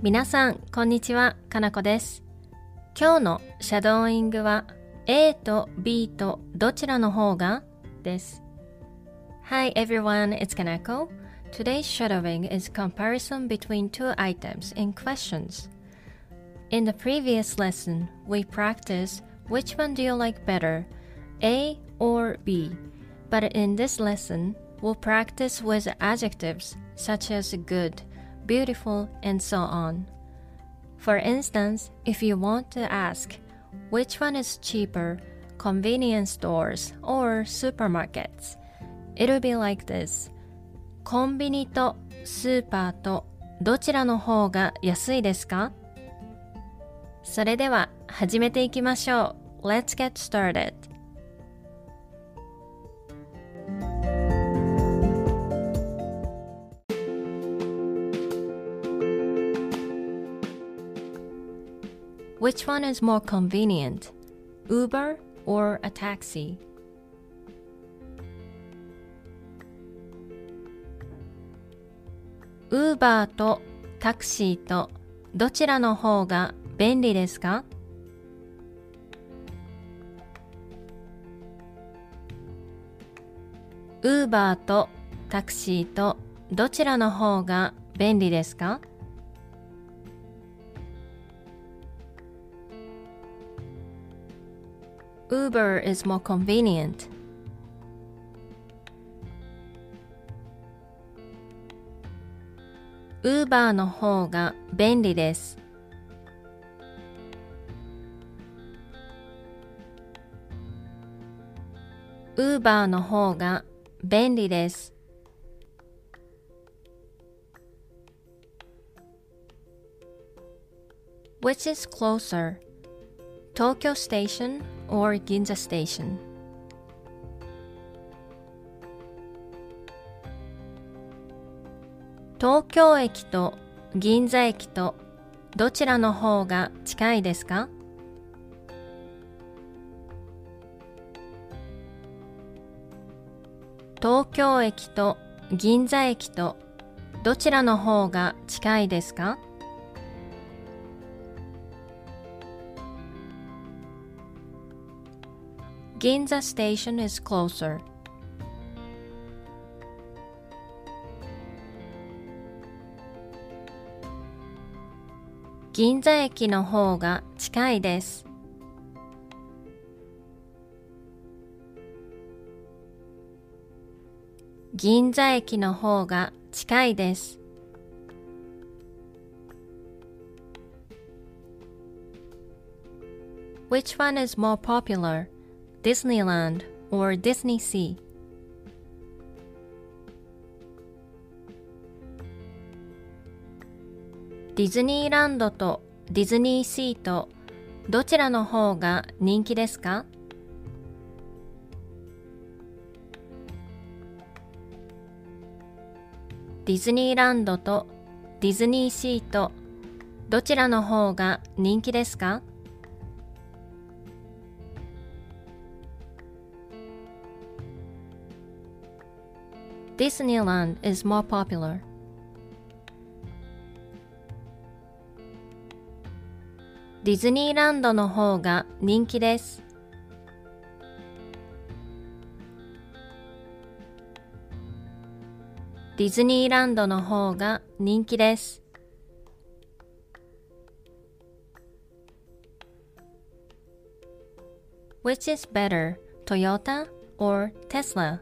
皆さん、こんにちは。かなこです。今日のシャドーイングは A と B とどちらの方がです。Hi everyone, it's Kanako. Today's shadowing is comparison between two items in questions. In the previous lesson, we practiced which one do you like better, A or B? But in this lesson, we'll practice with adjectives such as good, beautiful, and so on. For instance, if you want to ask which one is cheaper, convenience stores or supermarkets, it'll be like this. コンビニとスーパーとどちらの方が安いですか？それでは始めていきましょう。Let's get started. Which one is more convenient, Uber or a taxi? Uber とタクシーとどちらの方が便利ですか？ Uber とタクシーとどちらの方が便利ですか？Uber is more convenient. Uber の方が便利です。Uber の方が便利です。Which is closer, Tokyo Station or Ginza Station? 東京駅と銀座駅とどちらの方が近いですか？東京駅と銀座駅とどちらの方が近いですか？Ginza Station is closer. 銀座駅の方が近いです。銀座駅の方が近いです。Which one is more popular, Disneyland or Disney Sea? ディズニーランドとディズニーシーとどちらの方が人気ですか？ディズニーランドとディズニーシーとどちらの方が人気ですか？ Disneyland is more popular. ディズニーランドの方が人気です。ディズニーランドの方が人気です。Which is better, Toyota or Tesla?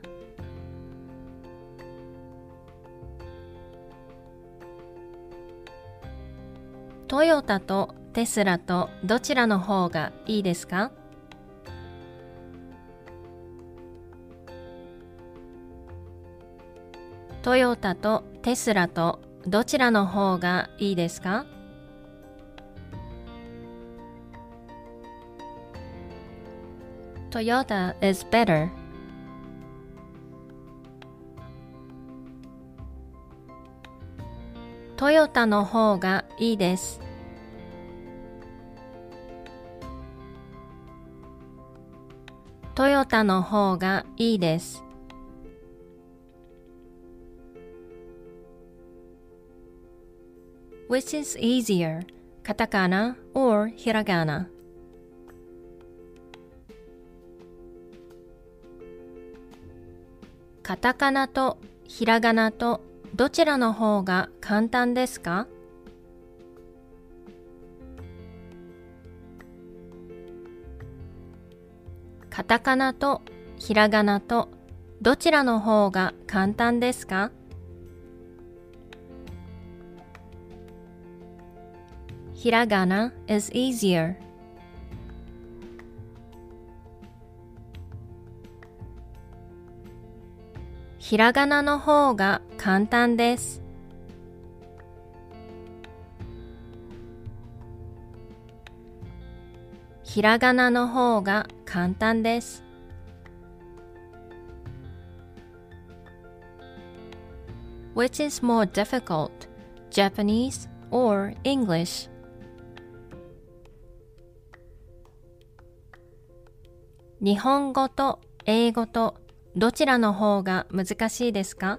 トヨタとテスラとどちらの方がいいですか？トヨタとテスラとどちらの方がいいですか？ Toyota is better. トヨタの方がいいです。トヨタの方がいいです。 Which is easier, カタカナ or ひらがな？カタカナとひらがなとどちらの方が簡単ですか？カタカナとひらがなとどちらの方が簡単ですか？ひらがな is easier. ひらがなの方が簡単です。ひらがなの方が簡単です。Which is more difficult, Japanese or English? 日本語と英語とどちらの方が難しいですか？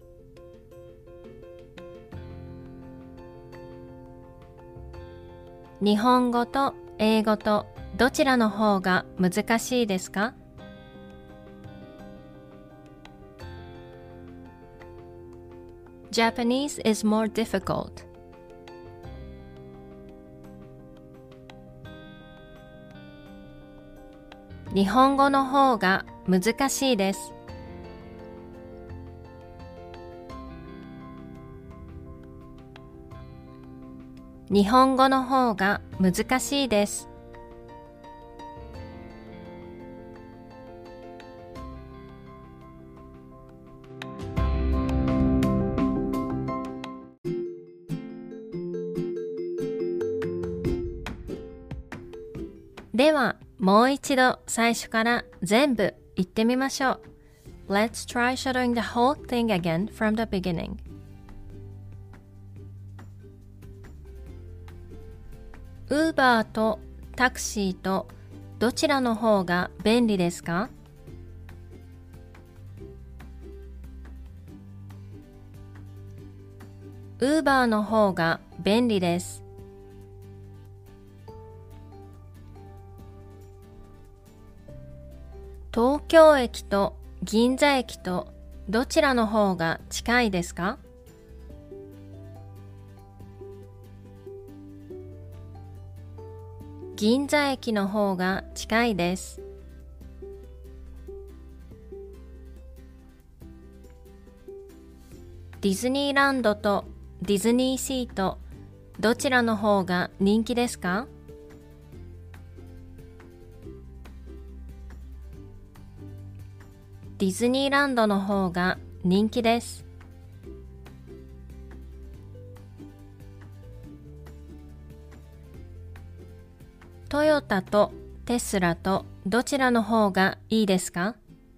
日本語と英語とどちらの方が難しいですか？Japanese is more difficult. 日本語の方が難しいです。日本語の方が難しいです。では、もう一度最初から全部言ってみましょう。Let's try shadowing the whole thing again from the beginning. ウーバーとタクシーとどちらの方が便利ですか？ウーバーの方が便利です。東京駅と銀座駅とどちらの方が近いですか？銀座駅の方が近いです。ディズニーランドとディズニーシーとどちらの方が人気ですか？ディズニーランドの方が人気です。トヨタとテスラとどちらの方がいいですか？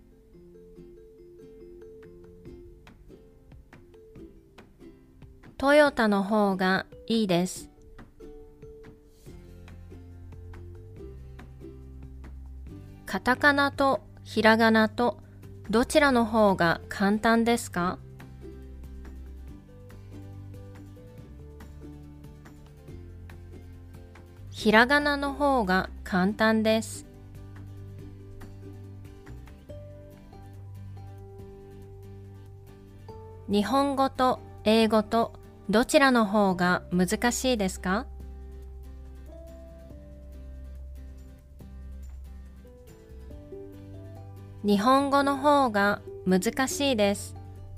トヨタの方がいいです。カタカナとひらがなとどちらの方が簡単ですか？ひらがなの方が簡単です。日本語と英語とどちらの方が難しいですか？日本語の方が難しいです。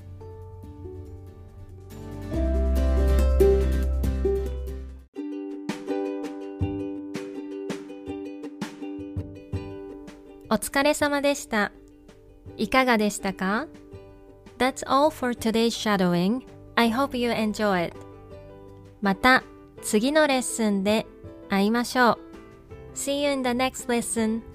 お疲れ様でした。いかがでしたか？ That's all for today's shadowing. I hope you enjoy it. また次のレッスンで会いましょう。See you in the next lesson.